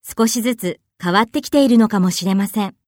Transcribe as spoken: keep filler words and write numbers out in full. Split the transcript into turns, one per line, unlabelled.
少しずつ変わってきているのかもしれません。